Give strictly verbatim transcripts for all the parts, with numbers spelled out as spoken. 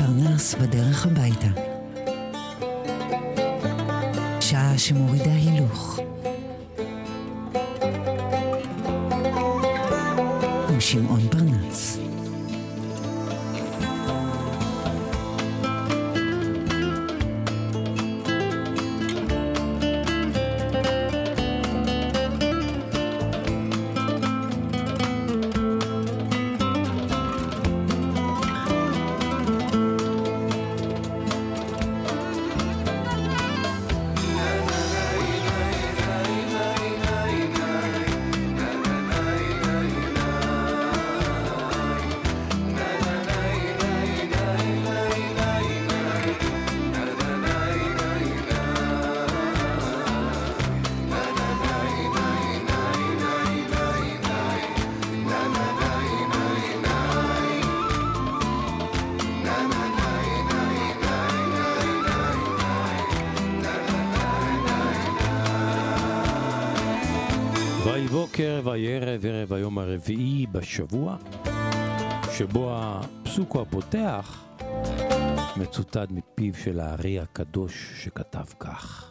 פרנס בדרך הביתה. שעה שמורידה הילוך. עם שמעון פרנס. בוקר וערב, ערב היום הרביעי בשבוע, שבו הפסוק הפותח מצוטט מפיו של הארי הקדוש שכתב כך: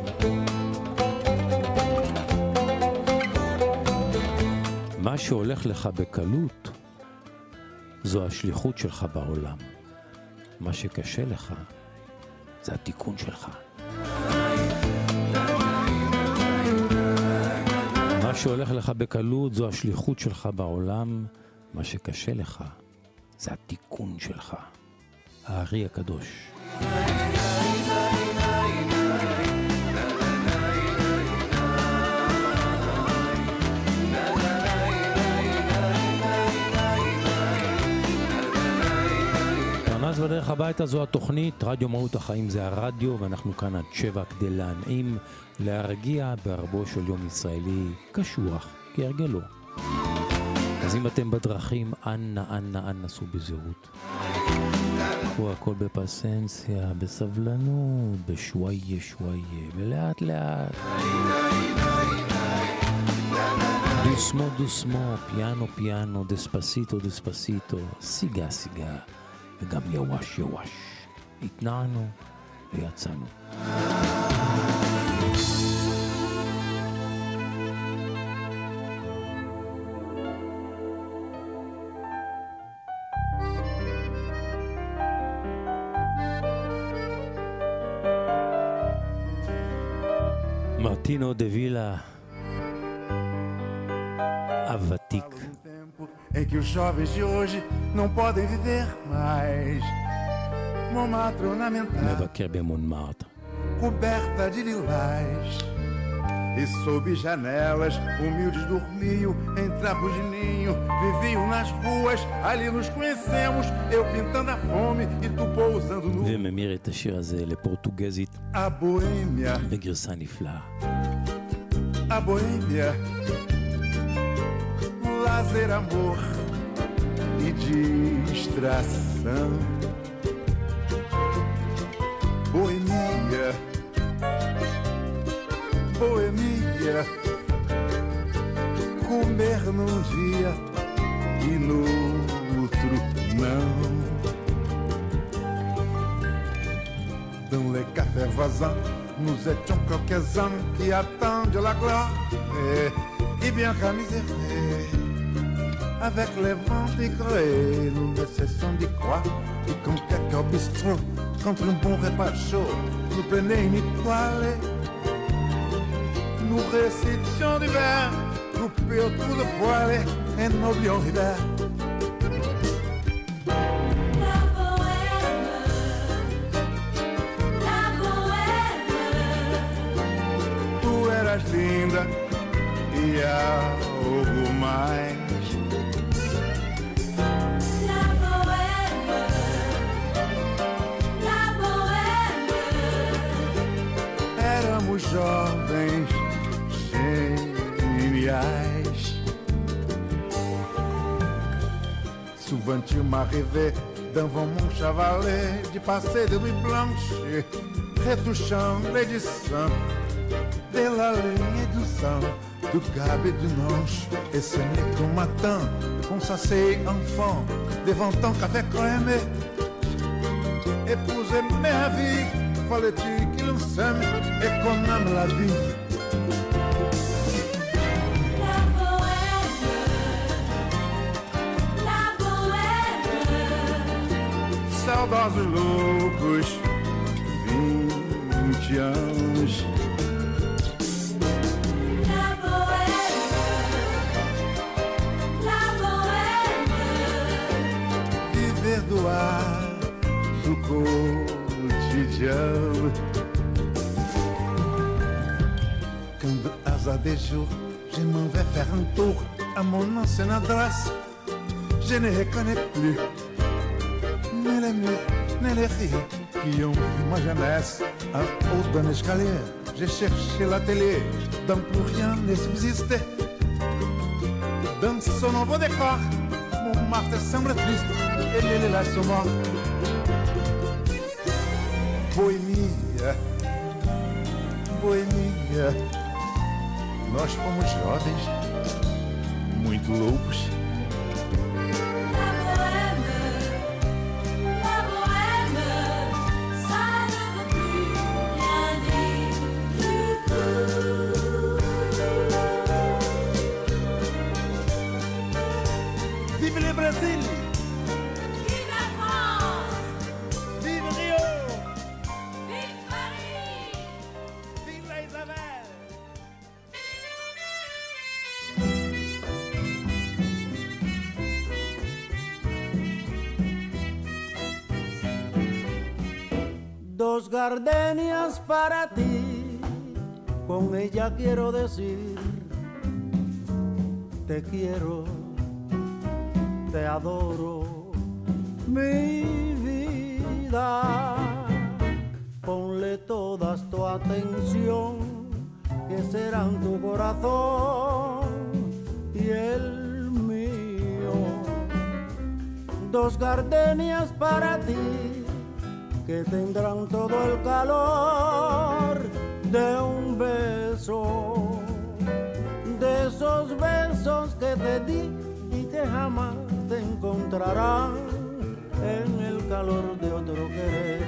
מה שהולך לך בקלות זו השליחות שלך בעולם, מה שקשה לך זה התיקון שלך. מה שהולך לך בקלות זו השליחות שלך בעולם, מה שקשה לך זה התיקון שלך. הארי הקדוש. פרנס בדרך הביתה זו התוכנית, רדיו מהות החיים זה הרדיו, ואנחנו כאן עד שבע כדי להנעים, להרגיע בערבו של יום ישראלי קשוח, כהרגלו. אז אם אתם בדרכים, אנא, אנא, אנא, סעו בזהירות. קחו הכל בפסנסיה, בסבלנות, בשוואיה, שוואיה, ולאט לאט. דוסמו, דוסמו, פיאנו, פיאנו, דספסיטו, דספסיטו, סיגה, סיגה. וגם יווש יווש, התנענו ויצאנו. מרטינו דה וילה, הוותיק. Em que os jovens de hoje não podem viver mais. Montmartre ornamentada, מבקר במונמרטר, coberta de lilás, e sob janelas humildes dormiam em trapos de ninho, viviam nas ruas, ali nos conhecemos, eu pintando a fome e tu pousando no... וממיר את השיר הזה לפורטוגזית A boêmia, בגרסה נפלאה. a boêmia, lazer, amor e distração. Boemia, boemia, comer num dia e no outro não. Dans les cafés voisins, nous étions quelques-uns qui attendent la gloire et bien qu'à misère. Avec les vents dégrés, nous ne cessons d'y croire. Et quand quelqu'un bistrot, contre un bon repas chaud, nous prenait une étoile. Nous récitions du verre, coupés autour de poêle, et n'oublions l'hiver. La bohème, la bohème. Tu eras linda e algo mais. Jovens geniais. Souvent tu m'arrivais devant mon chevalet de passer de nuit blanche, retouchant l'édition de la ligne du sang, du cab et du manche. Et ce n'est qu'au matin qu'on s'asseye enfant devant ton café crème. épouser ma vie, fallait-il qu'il s'aime et qu'on aime la vie. La bohème, la bohème, Saudades loucos, vinte anos. la bohème, la bohème, Viver do ar do cotidiano. Quand hasard des jours, je m'en vais faire un tour à mon ancienne adresse. Je ne reconnais plus ni les murs, ni les filles qui ont vu ma jeunesse. En haut d'un escalier, j'ai cherché la télé, dans plus rien ne subsistait. Dans son nouveau décor, mon marteau semble triste et les lilas sont morts. Boemia, boemia, nós fomos jovens, muito loucos. la bohème, la bohème, ça ne veut plus rien dire du tout. Vive le Brésil, Vive la France, vive Rio, vive Paris. vive la Isabelle. Dos gardenias para ti, con ella quiero decir, te quiero, te adoro, mi vida. Ponle todas tu atención, que serán tu corazón y el mío. Dos gardenias para ti, que tendrán todo el calor de un beso, de esos besos que te di y que jamás te encontrarán en el calor de otro querer.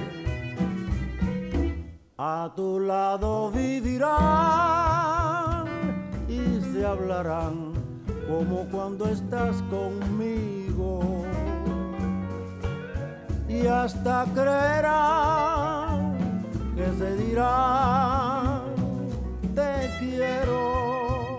A tu lado vivirán y se hablarán como cuando estás conmigo. Y hasta creerán que se dirán te quiero.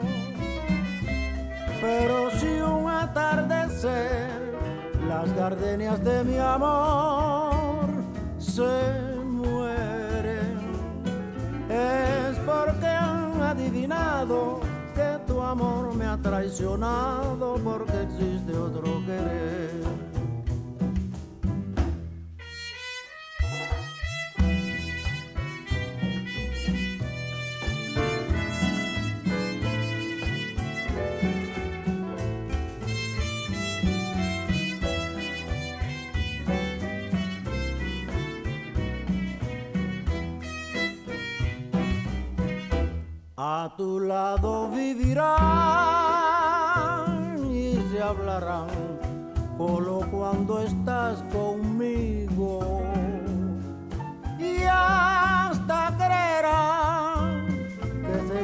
Pero si un atardecer las gardenias de mi amor se mueren, es porque han adivinado que tu amor me ha traicionado, porque existe otro querer. A tu lado vivirán y se hablarán solo cuando estás conmigo. Y hasta creerán que se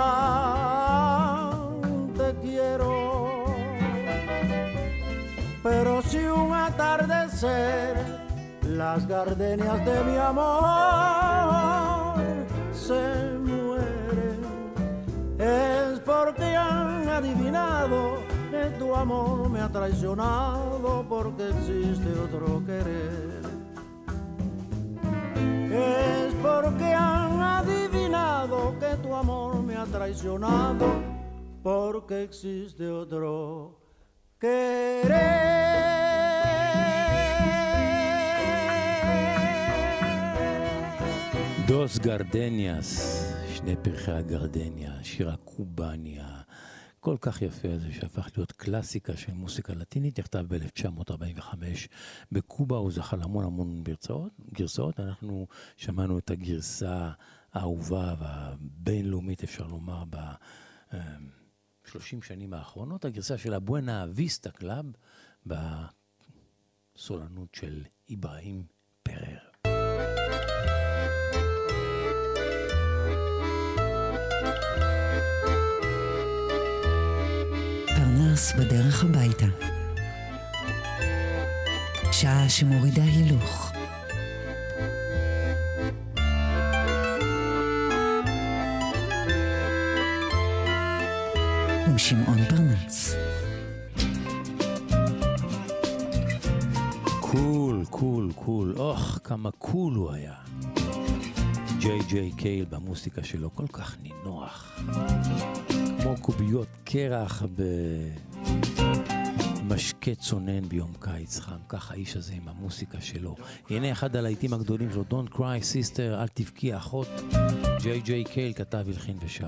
dirán te quiero. Pero si un atardecer las gardenias de mi amor se es porque han adivinado que tu amor me ha traicionado, porque existe otro querer. Es porque han adivinado que tu amor me ha traicionado, porque existe otro querer. דוס גרדניאס, שני פרחי הגרדניה, שיר הקובניה, כל כך יפה הזה שהפך להיות קלאסיקה של מוסיקה לטינית, נכתב ב-אלף תשע מאות ארבעים וחמש בקובה, הוא זכה להמון המון גרסאות, גרסאות, אנחנו שמענו את הגרסה האהובה והבינלאומית, אפשר לומר, ב-שלושים שנים האחרונות, הגרסה של הבואנה ויסטה קלאב, בסולנות של איברהים פרר. מרס בדרך הביתה. שעה שמורידה הילוך. עם שמעון פרנס. קול, קול, קול, אוח, כמה קול הוא היה. ג'יי ג'יי קייל במוסיקה שלו כל כך נינוח. כמו קוביות קרח במשקה צונן ביום קיץ חם. כך האיש הזה עם המוסיקה שלו. הנה אחד הלהיטים הגדולים שלו, Don't Cry Sister, אל תבכי אחות. ג'יי ג'יי קייל כתב, הלחין ושר.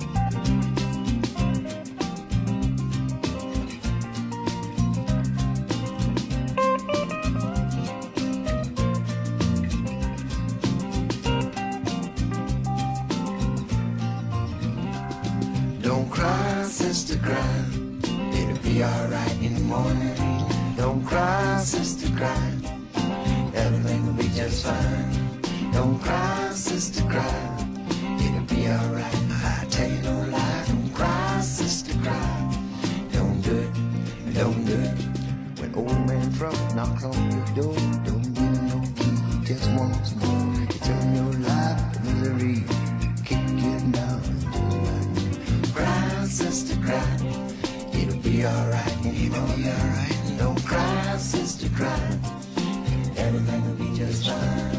Sister, cry. It'll be alright in the morning. Don't cry, sister, cry. Everything will be just fine. Don't cry, sister, cry. It'll be alright. I tell you no lie. Don't cry, sister, cry. Don't do it, don't do it. When old man Trump knocks on your door, don't give him no key. Just once more, you turn your life to misery. Kick you down. Cry, sister, cry. It'll be alright. It'll be alright. Don't cry, sister, cry. Everything will be just fine.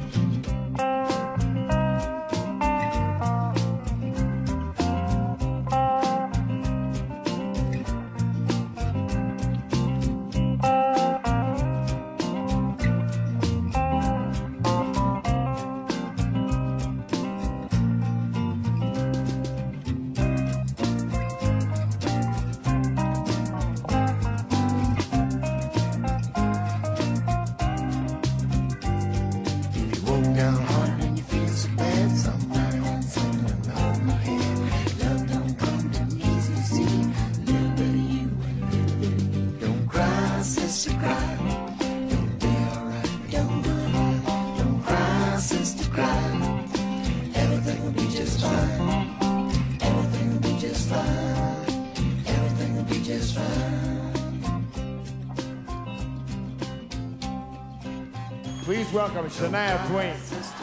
Welcome, Shania Twain.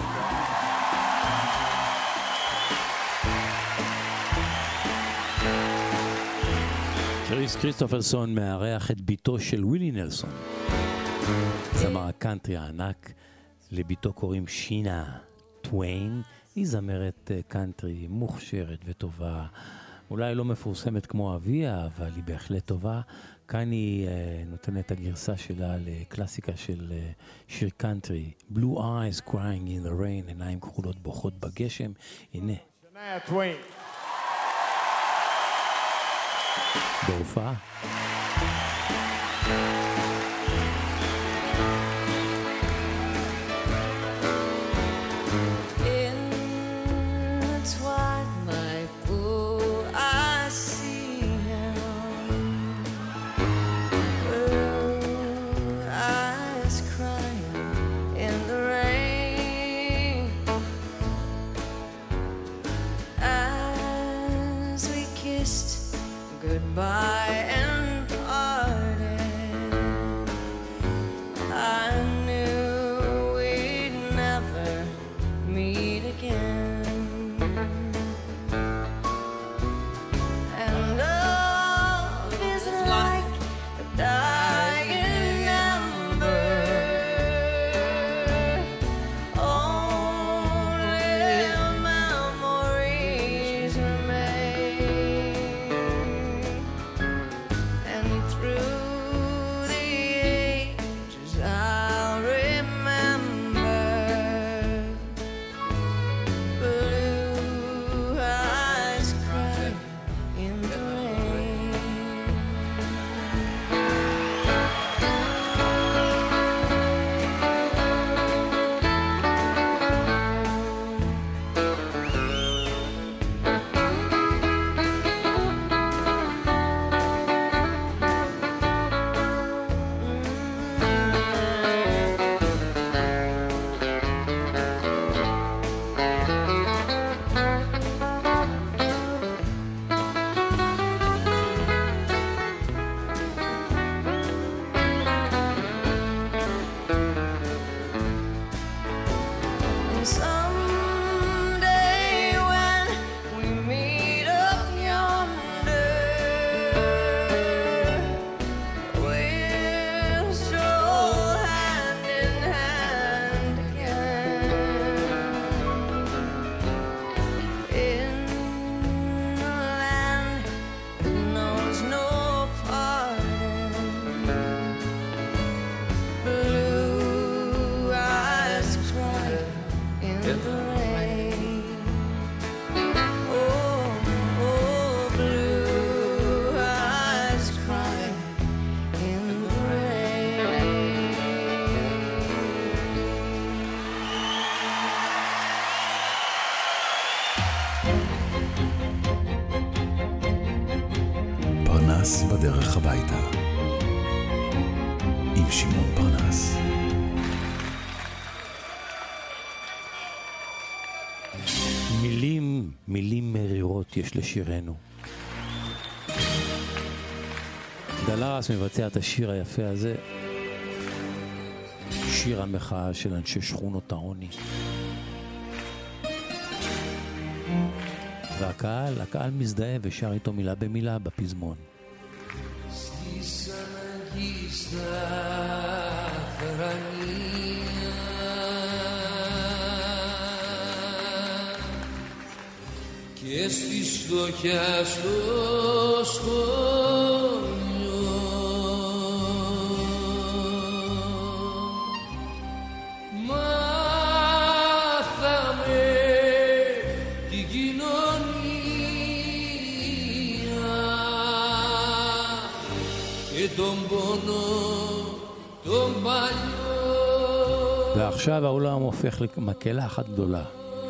קריס כריסטופרסון מארח את ביתו של ווילי נלסון. זמר הקאנטרי הענק, לביתו קוראים שינה טוויין. היא זמרת קאנטרי מוכשרת וטובה. אולי לא מפורסמת כמו אביה, אבל היא בהחלט טובה. כאן היא uh, נותנת את הגרסה שלה לקלאסיקה של uh, שיר קאנטרי, Blue Eyes Crying in the Rain, עיניים כחולות בוכות בגשם. הנה. Shania Twain. בהופעה. Goodbye and פרנס בדרך הביתה. עם שמעון פרנס. מילים, מילים מרירות יש לשירנו. דלרס מבצע את השיר היפה הזה, שיר המחאה של אנשי שכונות העוני. והקהל, הקהל מזדהה ושר איתו מילה במילה בפזמון. Και στη στοχιά στο σχολείο μάθαμε την κοινωνία και τον πόνο τον παλιό. ועכשיו העולם הופך למקהלה אחת גדולה.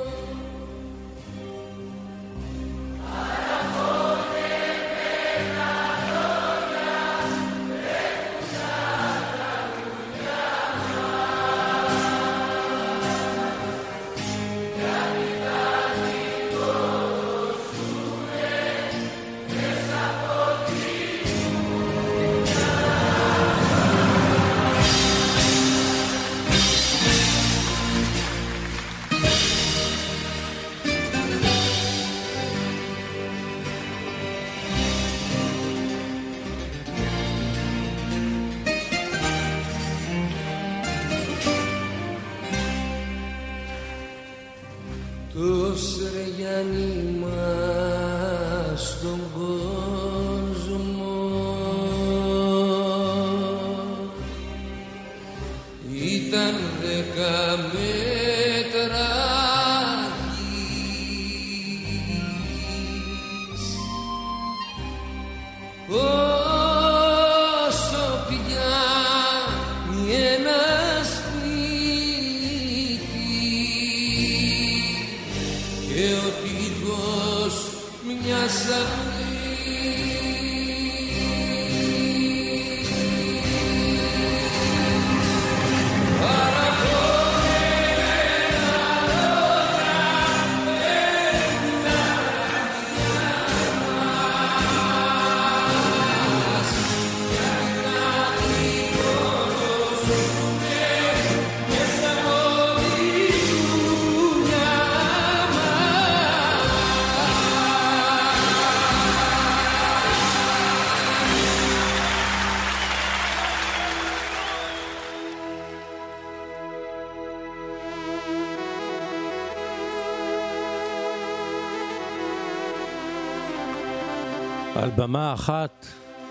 על במה אחת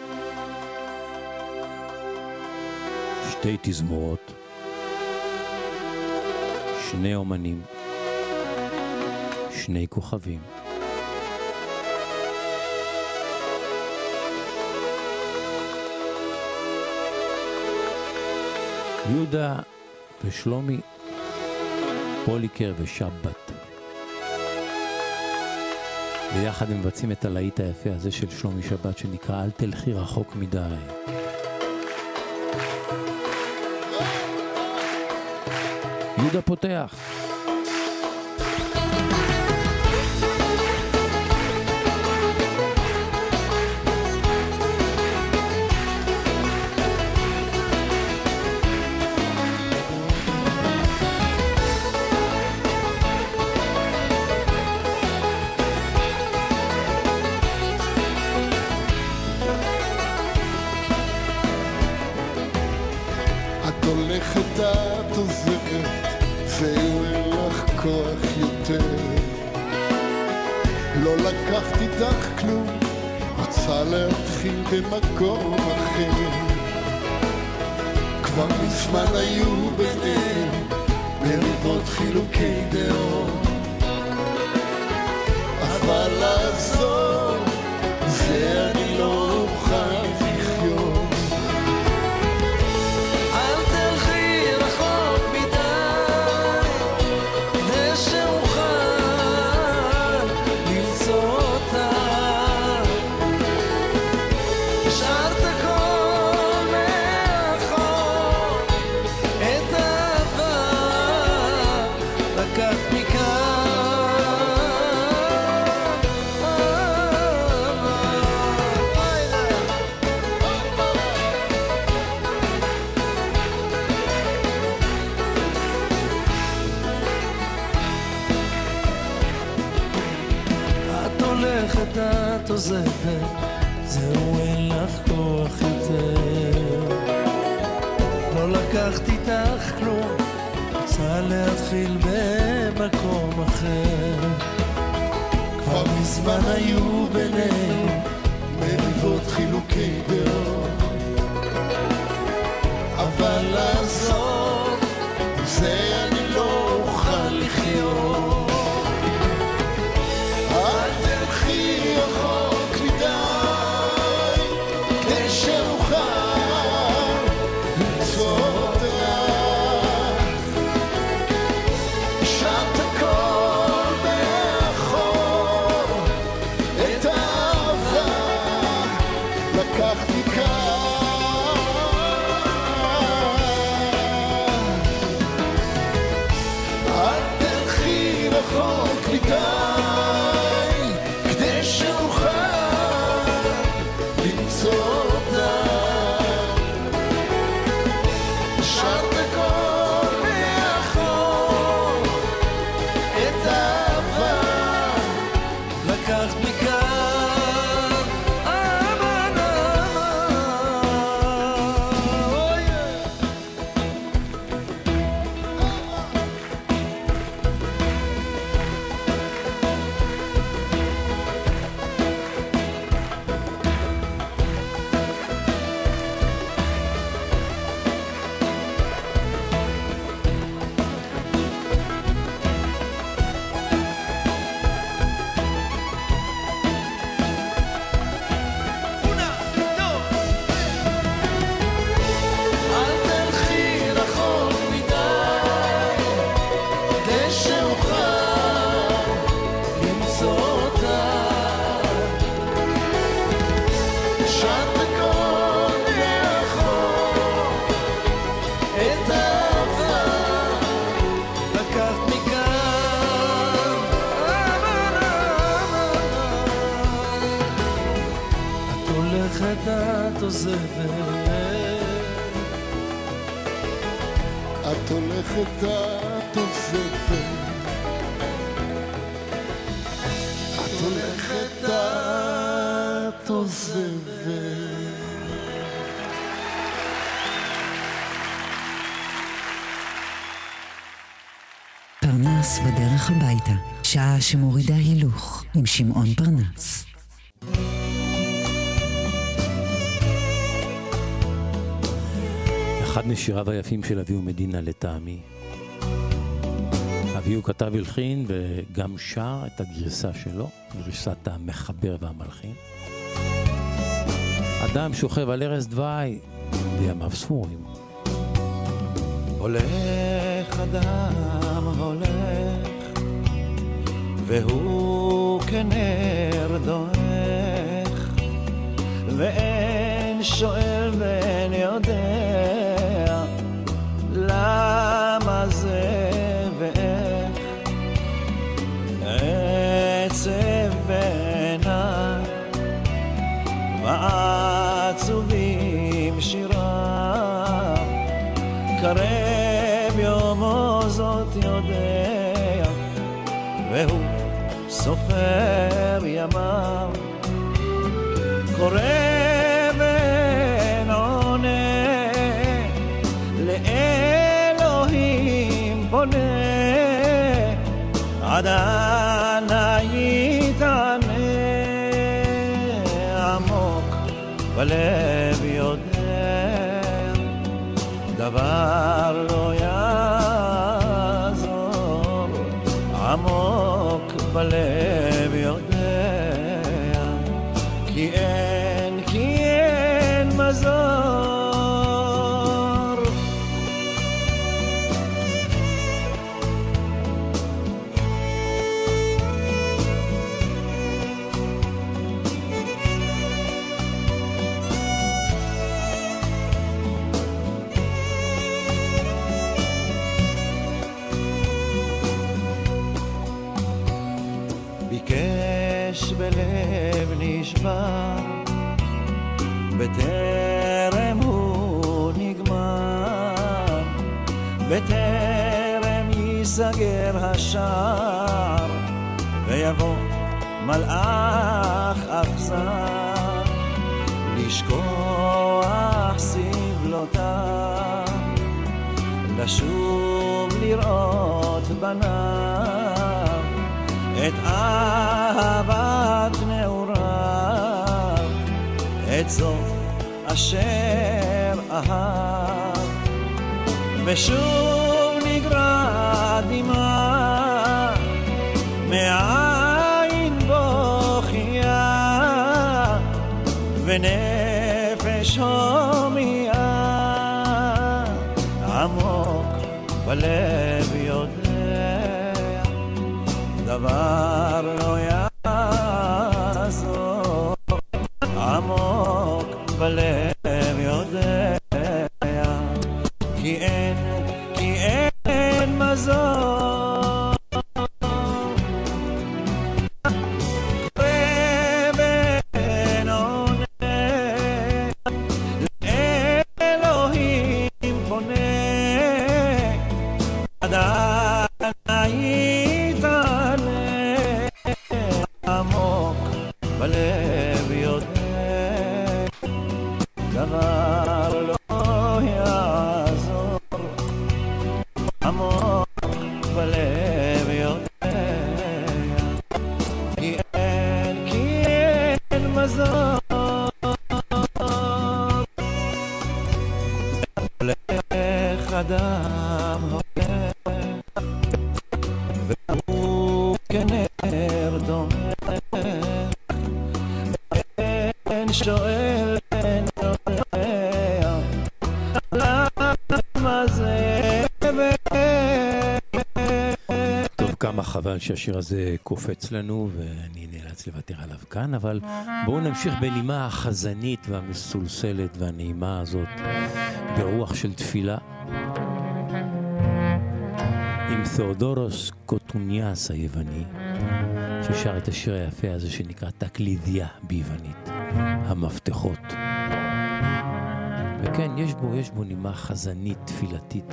שתי תזמורות, שני אומנים, שני כוכבים. יהודה ושלומי, פוליקר ושבת. ויחד הם מבצעים את הלהיט היפה הזה של שלומי שבת שנקרא אל תלכי רחוק מדי. יהודה פותח. הולכת את עוזרת ואין לך כוח יותר, לא לקחת איתך כלום, רוצה להתחיל במקום אחר. כבר מזמן היו ביניהם מריבות חילוקי דעות, אבל לעזור זה אני לא אוכל לחיות. עוזבת, זהו אין לך כוח יותר. לא לקחתי איתך כלום, רוצה להתחיל במקום אחר. כבר מזמן היו בינינו מריבות חילוקי דעות, אבל לעזוב זה אני לא אוכל לחיות. אל תלכי רחוק מדי כדי שאוכל למצוא אותך. השארת הכל מאחור, את האהבה לקחתי כאן. אל תלכי רחוק מדי כדי שאוכל למצוא אותה. השארת הכל מאחור, את האהבה לקחת מכאן. אמן אמן, אוי אל תלכי רחוק מדי כדי שאוכל למצוא אותה. השארת הכל מאחור, את האהבה לקחת מכאן. אמן אמן, את הולכת את עוזבת, את הולכת את עוזבת, את הולכת את עוזבת. פרנס בדרך הביתה, שעה שמורידה הילוך עם שמעון פרנס. אחד משיריו היפים של אביהו מדינה לטעמי. אביהו כתב הלחין וגם שר את הגרסה שלו, גרסת המחבר והמלחין. אדם שוכב על ערש דווי בימיו ספורים. הולך אדם הולך, והוא כנר דועך, ואין שואל ואין יודע למה זה ואיך. עצב בעיניי ועצובים שיריו, קרב יומו זאת יודע, והוא סופר ימיו. קורא ואין עונה, לאלוהים פונה, עד אנה יתענה. עמוק בלב יודע, דבר לא יעזור. עמוק בלב יודע, כי אין, כי אין מזור. ביקש בלב נשבר, בטרם הוא נגמר, בטרם ייסגר השער, ויבוא מלאך אכזר, לשכוח סבלותיו, לשוב לראות בניו את אהבת נעוריו, את זאת אשר אהב, ושוב נגרע דמעה מעין בוכייה, ונפש הומייה עמוק בלב יודע, דבר לא יעזור, עמוק בלב יודע, כי אין, כי אין מזור. רבן עונה לאלוהים פונה, עדיין יתעלה, עמוק בלב יודע, דבר לא יעזור, עמוק בלב יודע, כי אין, כי אין מזור. הולך אדם הולך, והוא כנר דומך, אין שואל אין יודע, למה זה טוב, כמה חבל שהשיר הזה קופץ לנו ואני נאלץ לוותר עליו כאן, אבל בואו נמשיך בנימה החזנית והמסולסלת והנעימה הזאת ברוח של תפילה עם תאודורוס קוטוניאס היווני, ששר את השיר היפה הזה שנקרא תקלידיה ביוונית, המפתחות. וכן, יש בו, יש בו נימה חזנית תפילתית.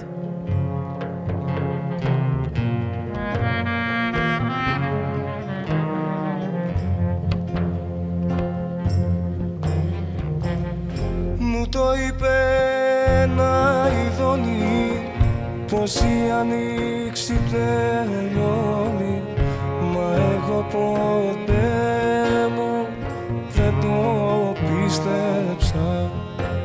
Μου το είπε ένα ειδώνει πως η ανοίξη τελειώνει, μα εγώ ποτέ μου δεν το πίστεψα,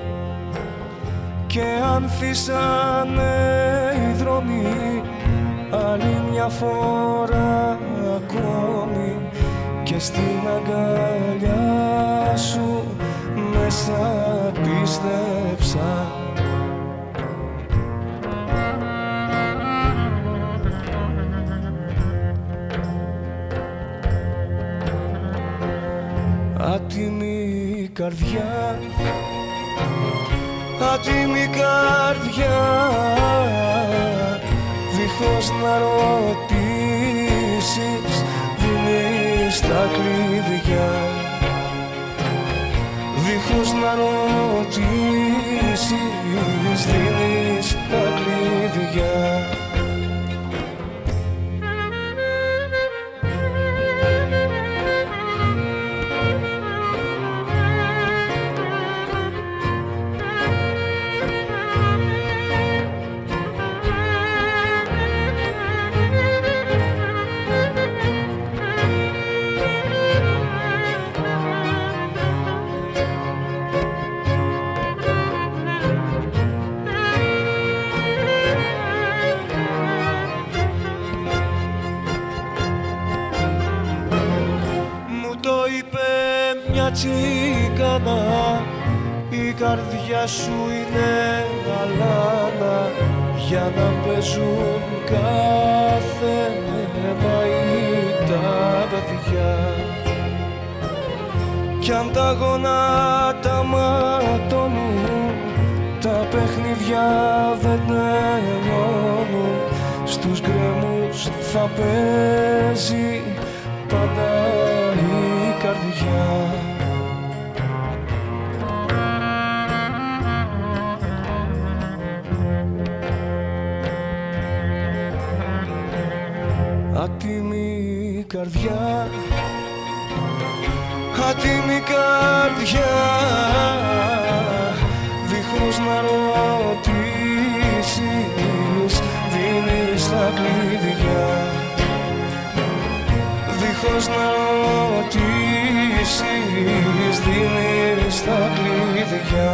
και ανθίσανε οι δρόμοι άλλη μια φορά ακόμη, και στην αγκαλιά σου μέσα πίστεψα. Άτιμη καρδιά, άτιμη καρδιά, δίχως να ρωτήσεις δίνεις τα κλειδιά, δίχως να ρωτήσεις δίνεις τα κλειδιά. Τσίκανα, η καρδιά σου είναι αλάνα, για να παίζουν κάθε μαΐ τα παιδιά, κι αν τα γονάτα ματώνουν, τα παιχνίδια δεν τελειώνουν, στους γκρεμούς θα παίζει πάντα η καρδιά. Άτιμη καρδιά, άτιμη καρδιά, δίχως να ρωτήσεις δίνεις τα κλειδιά, δίχως να ρωτήσεις δίνεις τα κλειδιά.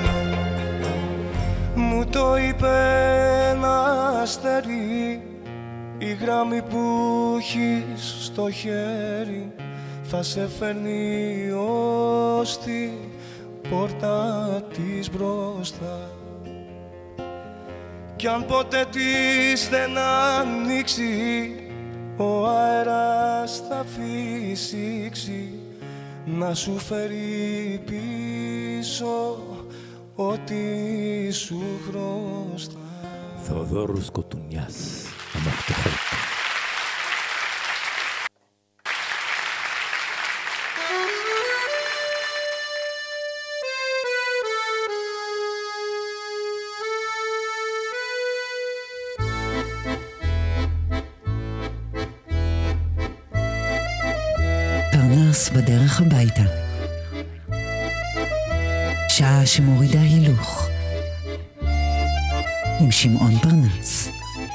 Μου το είπε ένα αστέρι, η γράμμη που έχεις στο χέρι θα σε φέρνει ως την πόρτα της μπροστά. Κι αν ποτέ της δεν ανοίξει, ο αέρας θα φυσήξει να σου φέρει πίσω ό,τι σου χρωστά. Θεοδόρους Κοτουνιάς, αμαυτοχότητα. פרנס בדרך הביתה. שעה שמורידה הילוך. עם שמעון פרנס.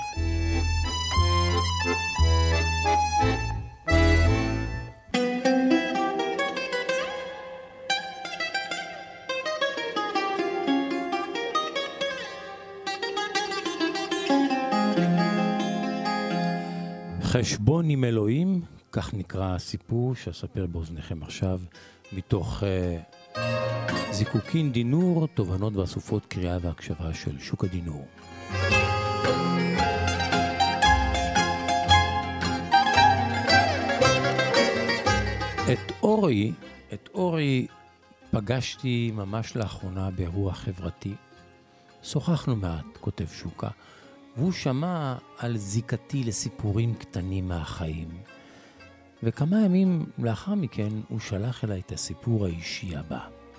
חשבון עם אלוהים, כך נקרא הסיפור שאספר באוזניכם עכשיו, מתוך uh, זיקוקין דינור, תובנות ואסופות קריאה והקשבה של שוק הדינור. את אורי, את אורי פגשתי ממש לאחרונה באירוע חברתי. שוחחנו מעט, כותב שוקה, והוא שמע על זיקתי לסיפורים קטנים מהחיים. וכמה ימים לאחר מכן הוא שלח אליי את הסיפור האישי הבא.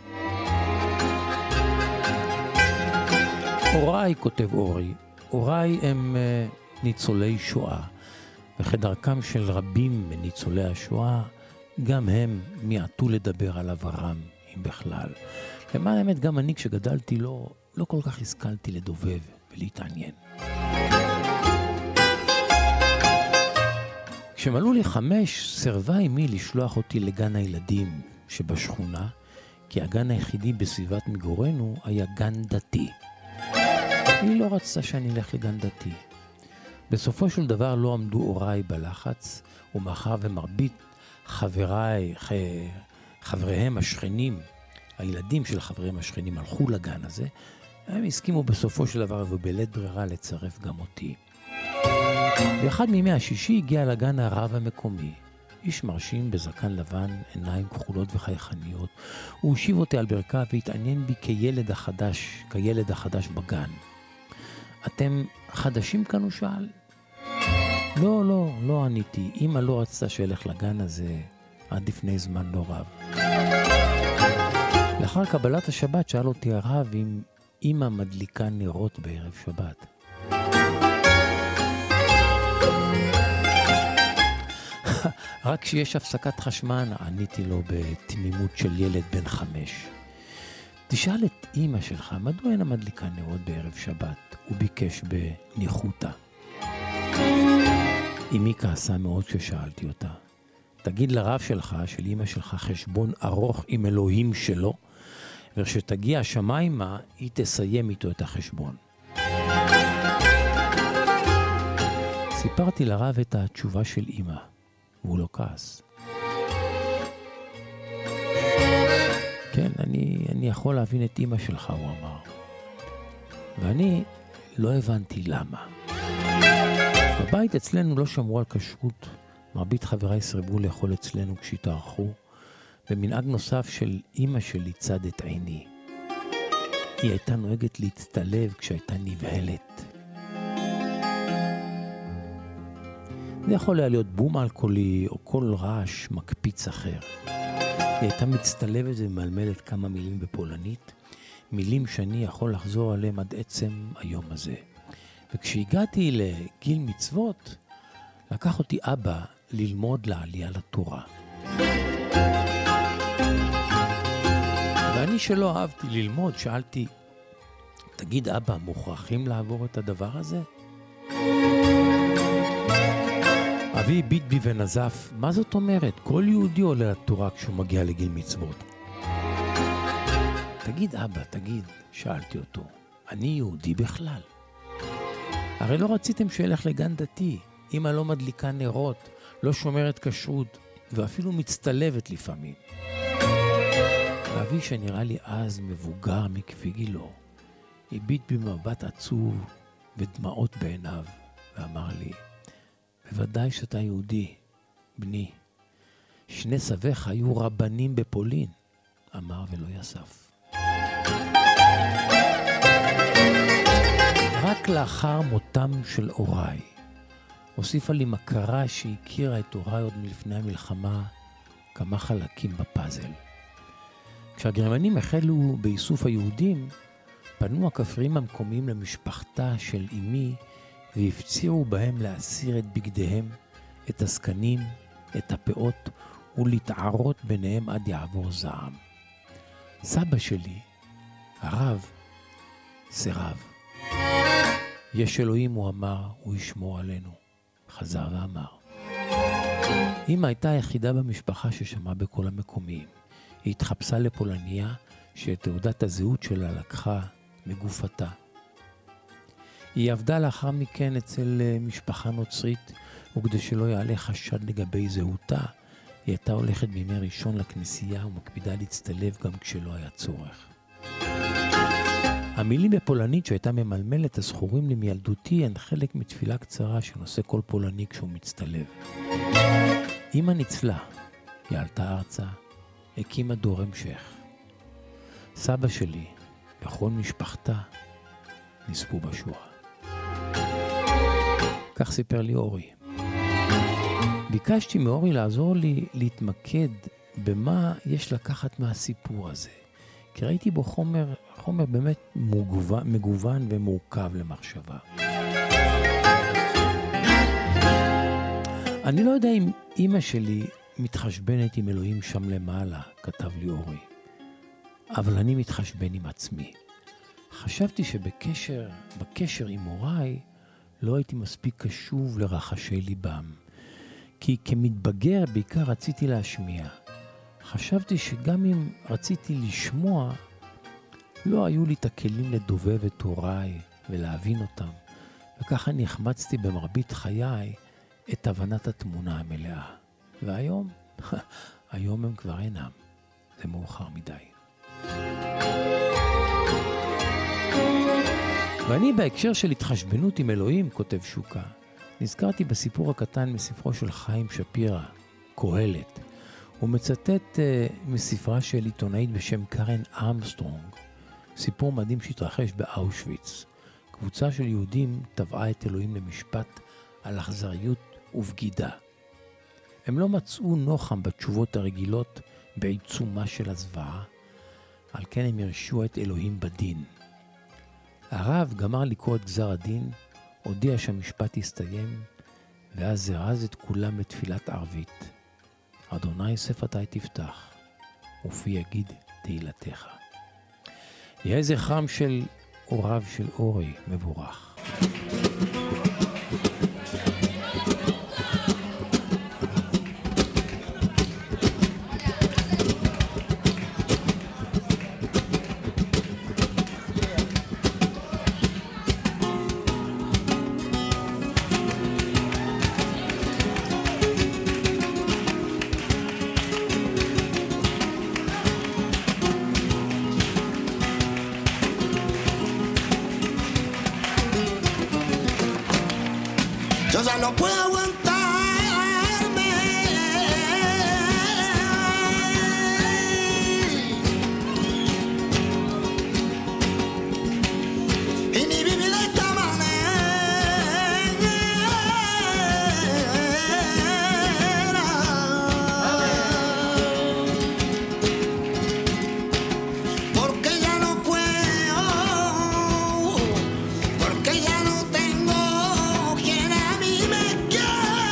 הוריי, כותב אורי, הוריי הם uh, ניצולי שואה, וכדרכם של רבים מניצולי השואה, גם הם מיעטו לדבר על עברם, אם בכלל. למען האמת, גם אני כשגדלתי לא, לא כל כך השכלתי לדובב ולהתעניין. כשמלאו לי חמש, סרבה אמי לשלוח אותי לגן הילדים שבשכונה, כי הגן היחידי בסביבת מגורנו היה גן דתי. היא לא רצתה שאני אלך לגן דתי. בסופו של דבר לא עמדו הוריי בלחץ, ומאחר ומרבית חבריי, חבריהם השכנים, הילדים של חבריהם השכנים הלכו לגן הזה, הם הסכימו בסופו של דבר ובלית ברירה לצרף גם אותי. באחד מימי השישי הגיע לגן הרב המקומי. איש מרשים בזקן לבן, עיניים כחולות וחייכניות. הוא הושיב אותי על ברכה והתעניין בי כילד החדש, כילד החדש בגן. אתם חדשים כאן? הוא שאל. לא, לא, לא עניתי. אמא לא רצתה שילך לגן הזה עד לפני זמן לא רב. לאחר קבלת השבת שאל אותי הרב אם אמא מדליקה נרות בערב שבת. רק כשיש הפסקת חשמל, עניתי לו בתמימות של ילד בן חמש. תשאל את אמא שלך, מדוע אינה מדליקה נרות בערב שבת? הוא ביקש בניחותה. אמי כעסה מאוד כששאלתי אותה. תגיד לרב שלך, של אמא שלך, חשבון ארוך עם אלוהים שלו, וכשתגיע השמיימה, היא תסיים איתו את החשבון. סיפרתי לרב את התשובה של אמא. והוא לא כעס. כן, אני, אני יכול להבין את אמא שלך, הוא אמר. ואני לא הבנתי למה. בבית אצלנו לא שמרו על כשרות. מרבית חבריי סרבו לאכול אצלנו כשהתארחו, ומנהג נוסף של אמא שלי צד את עיני. היא הייתה נוהגת להצטלב כשהייתה נבהלת. זה יכול היה להיות בום אלכוהולי או כל רעש מקפיץ אחר. היא הייתה מצטלבת ומלמלת כמה מילים בפולנית, מילים שאני יכול לחזור עליהם עד עצם היום הזה. וכשהגעתי לגיל מצוות, לקח אותי אבא ללמוד לעלייה לתורה. ואני שלא אהבתי ללמוד, שאלתי, תגיד אבא, מוכרחים לעבור את הדבר הזה? אבי ביט בי ונזף, מה זאת אומרת? כל יהודי עולה לתורה כשהוא מגיע לגיל מצוות. תגיד אבא, תגיד, שאלתי אותו, אני יהודי בכלל? הרי לא רציתם שילך לגן דתי, אמא לא מדליקה נרות, לא שומרת כשרות, ואפילו מצטלבת לפעמים. ואבי שנראה לי אז מבוגר מכפי גילו, הביט במבט עצוב ודמעות בעיניו, ואמר לי, בוודאי שאתה יהודי, בני. שני סביך היו רבנים בפולין, אמר ולא יסף. רק לאחר מותם של הוריי, הוסיפה לי מכרה שהכירה את הוריי עוד מלפני המלחמה כמה חלקים בפאזל. כשהגרמנים החלו באיסוף היהודים, פנו הכפרים המקומיים למשפחתה של אמי והפצירו בהם להסיר את בגדיהם, את הזקנים, את הפאות ולהתערות ביניהם עד יעבור זעם. סבא שלי, הרב, סירב. יש אלוהים, הוא אמר, הוא ישמור עלינו. חזר ואמר. אמא הייתה היחידה במשפחה ששמעה בכל המקומיים. היא התחפשה לפולניה שאת תעודת הזהות שלה לקחה מגופתה. היא עבדה לאחר מכן אצל משפחה נוצרית, וכדי שלא יעלה חשד לגבי זהותה, היא הייתה הולכת בימי ראשון לכנסייה ומקפידה להצטלב גם כשלא היה צורך. המילים בפולנית שהייתה ממלמלת הזכורים לי מילדותי הן חלק מתפילה קצרה שנושא כל פולני כשהוא מצטלב. אמא ניצלה, היא עלתה ארצה, הקימה דור המשך. סבא שלי וכל משפחתה נספו בשואה. כך סיפר לי אורי. ביקשתי מאורי לעזור לי להתמקד במה יש לקחת מהסיפור הזה. כי ראיתי בו חומר, חומר באמת מגוון, מגוון ומורכב למחשבה. אני לא יודע אם אמא שלי מתחשבנת עם אלוהים שם למעלה, כתב לי אורי. אבל אני מתחשבן עם עצמי. חשבתי שבקשר, בקשר עם הוריי, לא הייתי מספיק קשוב לרחשי ליבם. כי כמתבגר בעיקר רציתי להשמיע. חשבתי שגם אם רציתי לשמוע, לא היו לי את הכלים לדובב את הוריי ולהבין אותם. וככה נחמצתי במרבית חיי את הבנת התמונה המלאה. והיום, היום הם כבר אינם. זה מאוחר מדי. ואני בהקשר של התחשבנות עם אלוהים, כותב שוקה, נזכרתי בסיפור הקטן מספרו של חיים שפירא, קהלת. הוא מצטט uh, מספרה של עיתונאית בשם קרן ארמסטרונג, סיפור מדהים שהתרחש באושוויץ. קבוצה של יהודים טבעה את אלוהים למשפט על אכזריות ובגידה. הם לא מצאו נוחם בתשובות הרגילות בעיצומה של הזוועה, על כן הם הרשו את אלוהים בדין. הרב גמר לקרוא את גזר הדין, הודיע שהמשפט הסתיים, ואז זרז את כולם לתפילת ערבית. אדוני שפתי תפתח, ופי יגיד תהילתך. יהיה זכרם של הוריו של אורי מבורך. Yo ya no puedo aguantarme. Y ni vivir de esta manera. Porque ya no puedo, porque ya no tengo quien a mí me quiera.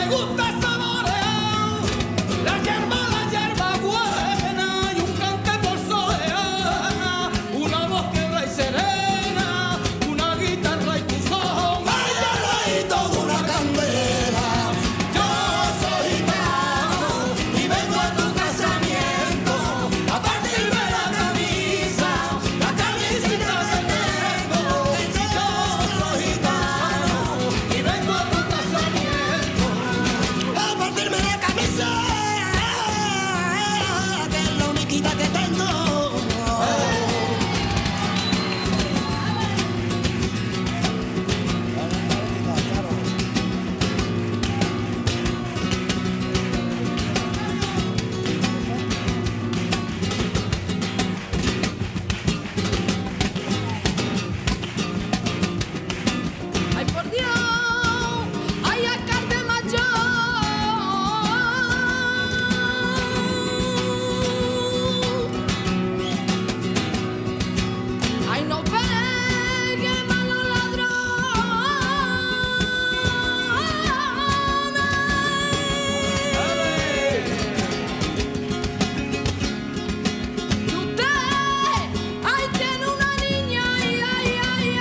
gusta saborear la hierba, la hierba buena y un cante por soleá, una voz tierra y serena, una guitarra y tu son. Ay, ay, toda una candela. Yo soy gitano y vengo a tu casamiento a partirme la camisa, la camisita que tengo. Yo soy gitano y vengo a tu casamiento a partirme la camisa, que es la única que tengo. Ay, por Dios, ay, alcalde mayor. Ay, no peguen a los ladrones. Y usted, ay, tiene una niña, ay, ay, ay,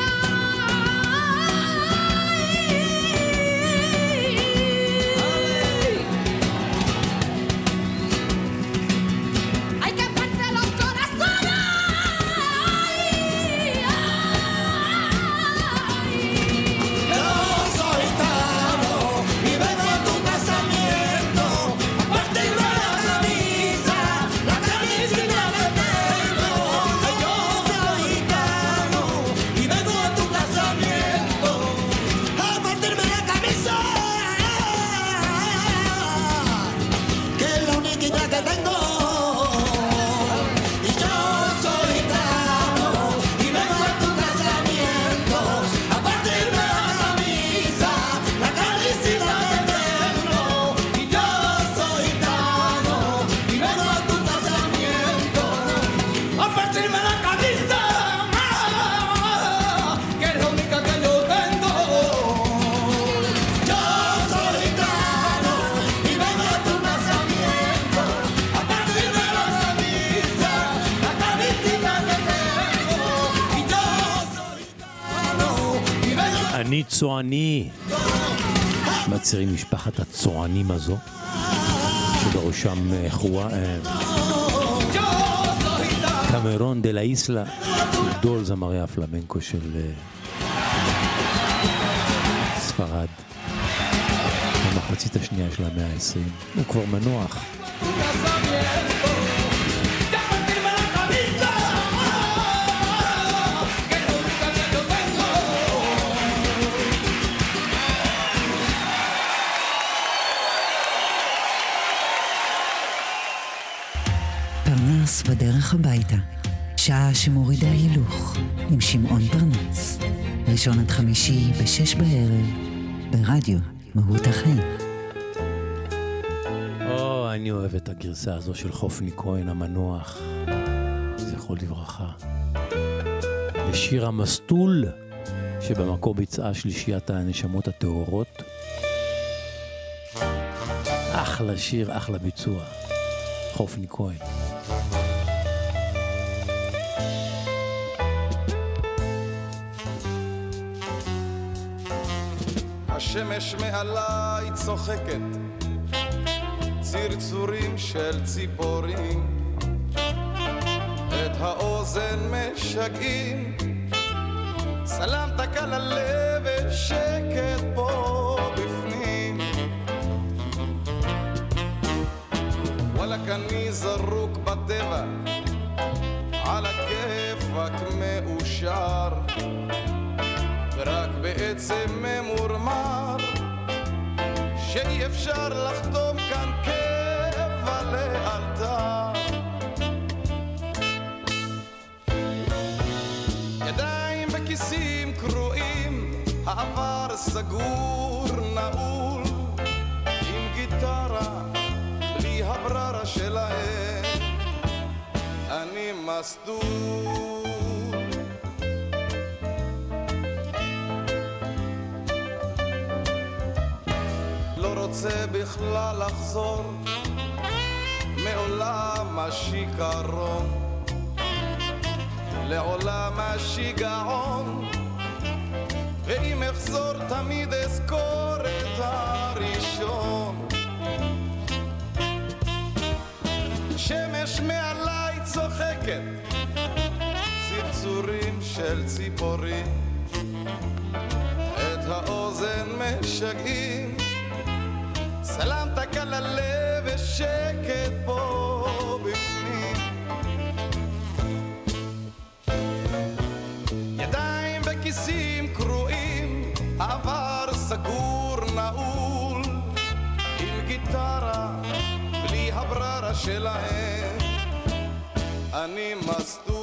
ay. Hay que parte los corazones. Yo soy gitano y vengo a tu casamiento a partirme la camisa, la camisita que tengo. Yo soy gitano y vengo a tu casamiento a partirme la camisa, que es la única que tengo. Y yo soy gitano y vengo a tu casamiento a partirme la camisa, la camisita que tengo. Y yo soy gitano y vengo a tu casamiento A partirme la camisa, que es la única que yo tengo. Yo soy gitano y vengo a tu casamiento a partirme la camisa, la camisita que tengo. Y yo soy gitano y vengo אני צועני. מצהירים משפחת הצוענים הזו, שבראשם אה, חווה, אה, קמרון דה לה איסלה, גדול זמרי הפלמנקו של אה, ספרד, במחצית השנייה של המאה ה-עשרים. הוא כבר מנוח. פרנס בדרך הביתה, שעה שמורידה הילוך, עם שמעון פרנס. ראשון עד חמישי בשש בערב, ברדיו מהות החיים. או, אני אוהב את הגרסה הזו של חופני כהן המנוח, זכרו לברכה, לשיר המסטול, שבמקור ביצעה שלישיית הנשמות הטהורות. אחלה שיר, אחלה ביצוע, חופני כהן. השמש מעליי צוחקת, צרצורים של ציפורים, את האוזן משגעים, סלמת קל הלב ושקט פה בפנים. וואלק אני זרוק בטבע, על הכיפק מאושר, ורק בעצם ממורמר שאי אפשר לחתום כאן קבע לאלתר. ידיים בכיסים קרועים, העבר סגור נעול, עם גיטרה בלי הבררה שלהם, אני מסדור. רוצה בכלל לחזור מעולם השיכרון לעולם השיגעון, ואם אחזור תמיד אזכור את הראשון. שמש מעליי צוחקת, צרצורים של ציפורים את האוזן משגעים, סלמת קל הלב ושקט פה בפנים. ידיים בכיסים קרועים, עבר סגור נעול, עם גיטרה בלי הבררה שלהם אני מסתור.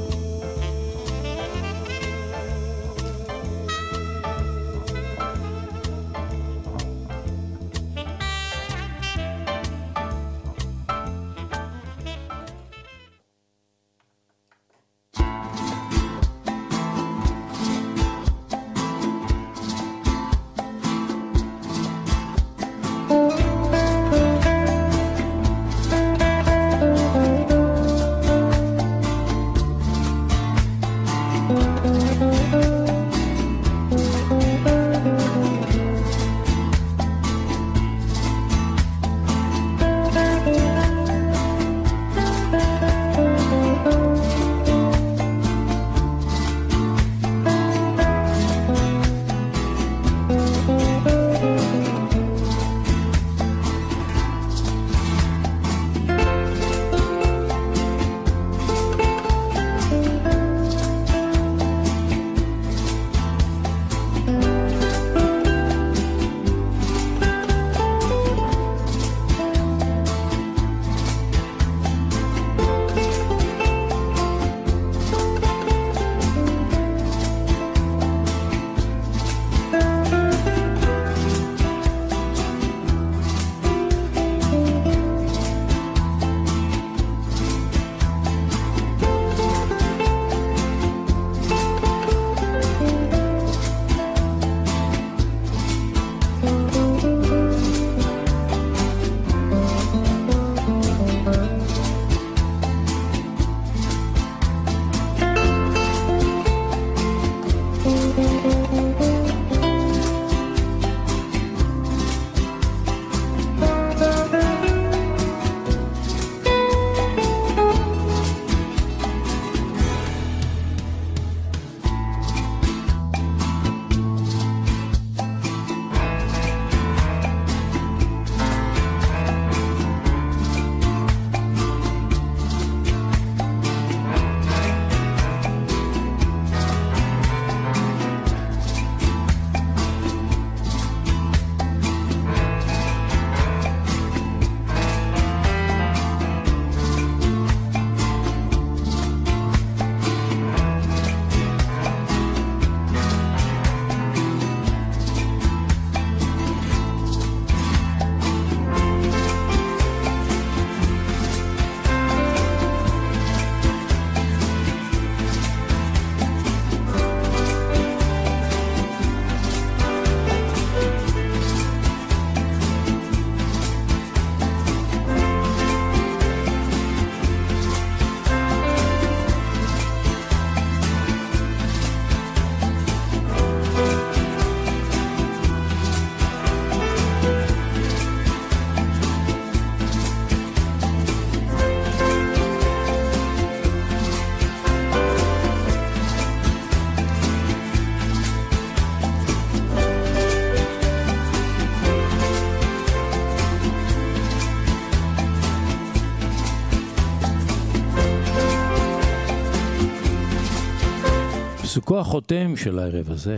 פסוקו החותם של הערב הזה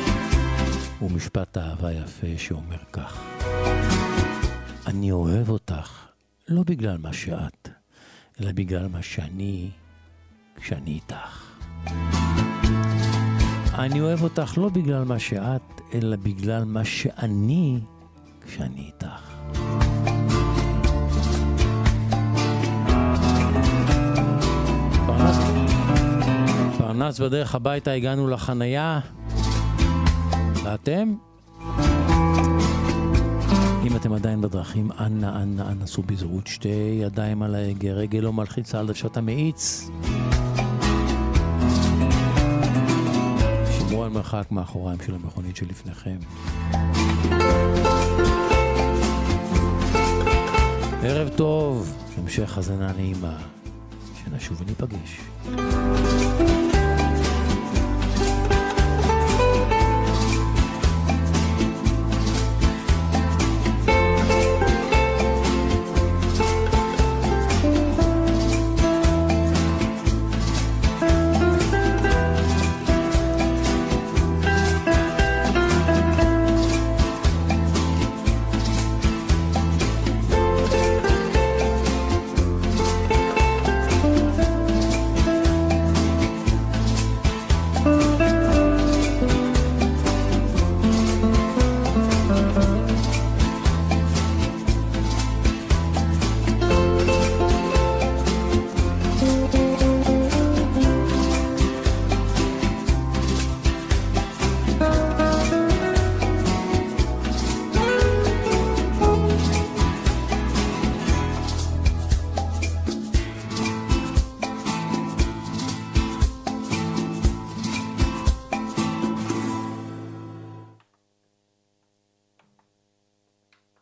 הוא משפט אהבה יפה שאומר כך: אני אוהב אותך לא בגלל מה שאת, אלא בגלל מה שאני כשאני איתך. אני אוהב אותך לא בגלל מה שאת, אלא בגלל מה שאני כשאני איתך. פרנס, פרנס בדרך הביתה, הגענו לחנייה. ואתם? אם ואתם עדיין בדרכים, אנא, אנא, אנא, סעו בזהירות, שתי ידיים על ההגה, רגל לא מלחיצה על דוושות המאיץ. שמרו על מרחק מאחוריים של המכונית שלפניכם. ערב טוב, המשך הזנה נעימה, שנשוב וניפגש.